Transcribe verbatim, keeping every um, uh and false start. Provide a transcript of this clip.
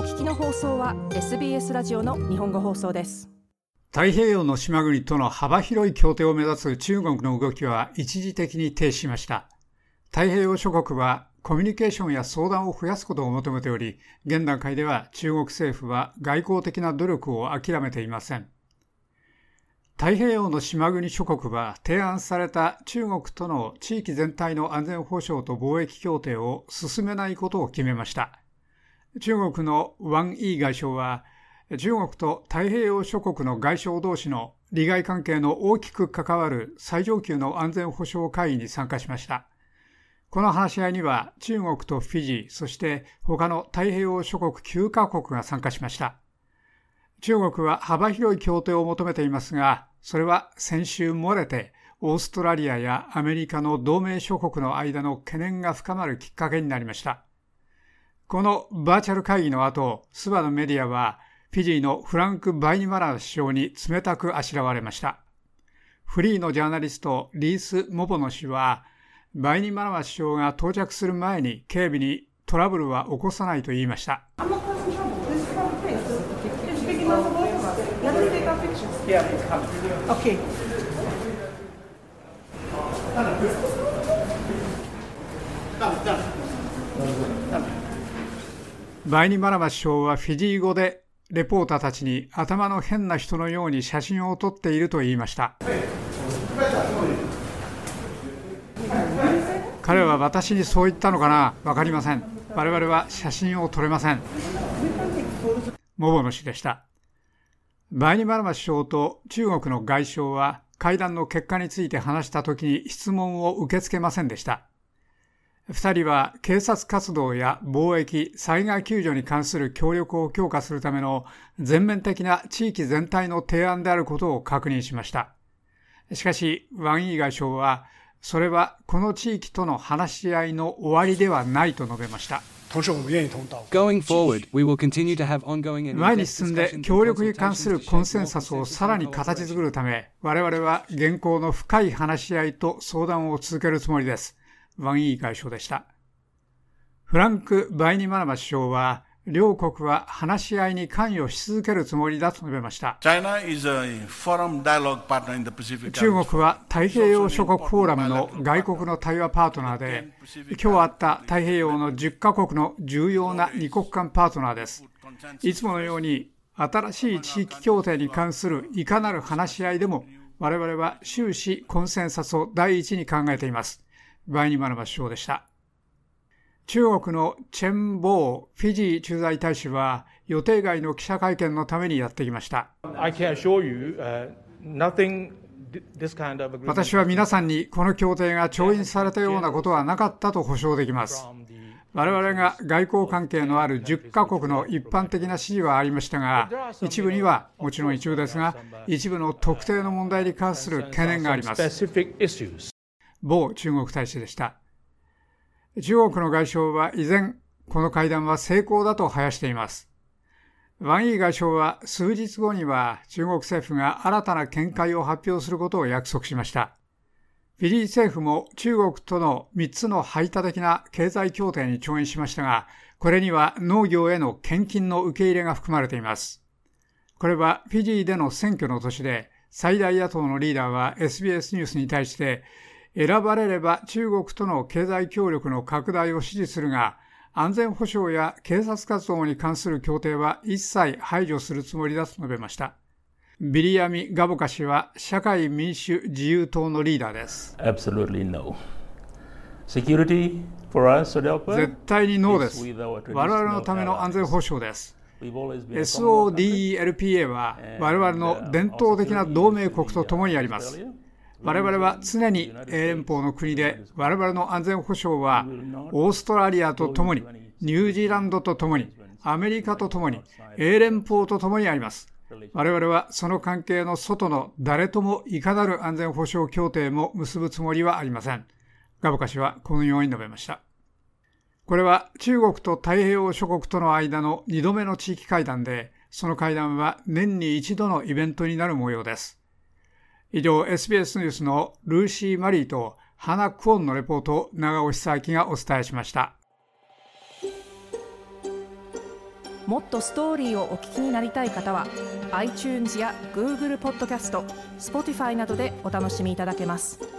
聞きの放送は エスビーエス ラジオの日本語放送です。 太平洋の島国との幅広い協定を目指す中国の動きは一時的に停止しました。太平洋諸国はコミュニケーションや相談を増やすことを求めており、現段階では中国政府は外交的な努力を諦めていません。太平洋の島国諸国は提案された中国との地域全体の安全保障と貿易協定を進めないことを決めました。中国のワン・イー外相は、中国と太平洋諸国の外相同士の利害関係の大きく関わる最上級の安全保障会議に参加しました。この話し合いには中国とフィジー、そして他の太平洋諸国きゅうカ国が参加しました。中国は幅広い協定を求めていますが、それは先週漏れてオーストラリアやアメリカの同盟諸国の間の懸念が深まるきっかけになりました。このバーチャル会議の後、スバのメディアはフィジーのフランク・バイニマラ首相に冷たくあしらわれました。フリーのジャーナリストリース・モボノ氏は、バイニマラ首相が到着する前に警備にトラブルは起こさないと言いました。バイニマラマ首相はフィジー語でレポーターたちに頭の変な人のように写真を撮っていると言いました。彼は私にそう言ったのかな、わかりません。我々は写真を撮れません。モボノ氏でした。バイニマラマ首相と中国の外相は会談の結果について話したときに質問を受け付けませんでした。二人は警察活動や貿易、災害救助に関する協力を強化するための全面的な地域全体の提案であることを確認しました。しかし、ワン・イー外相は、それはこの地域との話し合いの終わりではないと述べました。前に進んで協力に関するコンセンサスをさらに形作るため、我々は現行の深い話し合いと相談を続けるつもりです。ワン・イー外相でした。フランク・バイニマラマ首相は、両国は話し合いに関与し続けるつもりだと述べました。中国は太平洋諸国フォーラムの外国の対話パートナーで、今日あった太平洋のじゅっカ国の重要な二国間パートナーです。いつものように新しい地域協定に関するいかなる話し合いでも、我々は終始コンセンサスを第一に考えています。バイニマラマ首相でした。中国のチェン・ボーフィジー駐在大使は予定外の記者会見のためにやってきました。私は皆さんにこの協定が調印されたようなことはなかったと保証できます。我々が外交関係のあるじゅっカ国の一般的な支持はありましたが、一部にはもちろん一部ですが、一部の特定の問題に関する懸念があります。ボー中国大使でした。中国の外相は依然、この会談は成功だと話しています。ワン・イー外相は数日後には中国政府が新たな見解を発表することを約束しました。フィジー政府も中国とのみっつの排他的な経済協定に調印しましたが、これには農業への献金の受け入れが含まれています。これはフィジーでの選挙の年で、最大野党のリーダーは エスビーエス ニュースに対して、選ばれれば中国との経済協力の拡大を支持するが、安全保障や警察活動に関する協定は一切排除するつもりだと述べました。ビリヤミ・ガボカ氏は社会民主自由党のリーダーです。 Absolutely no. Security for us, 絶対にノーです。我々のための安全保障です。エスオーディーイーエルピーエー は我々の伝統的な同盟国と共にあります。我々は常に英連邦の国で、我々の安全保障はオーストラリアと共に、ニュージーランドと共に、アメリカと共に、英連邦と共にあります。我々はその関係の外の誰ともいかなる安全保障協定も結ぶつもりはありません。ガボカ氏はこのように述べました。これは中国と太平洋諸国との間のにどめの地域会談で、その会談は年に一度のイベントになる模様です。以上、エスビーエス ニュースのルーシー・マリーとハナ・クオンのレポートを長尾久明がお伝えしました。 もっとストーリーをお聞きになりたい方は iTunes や Google ポッドキャスト、Spotify などでお楽しみいただけます。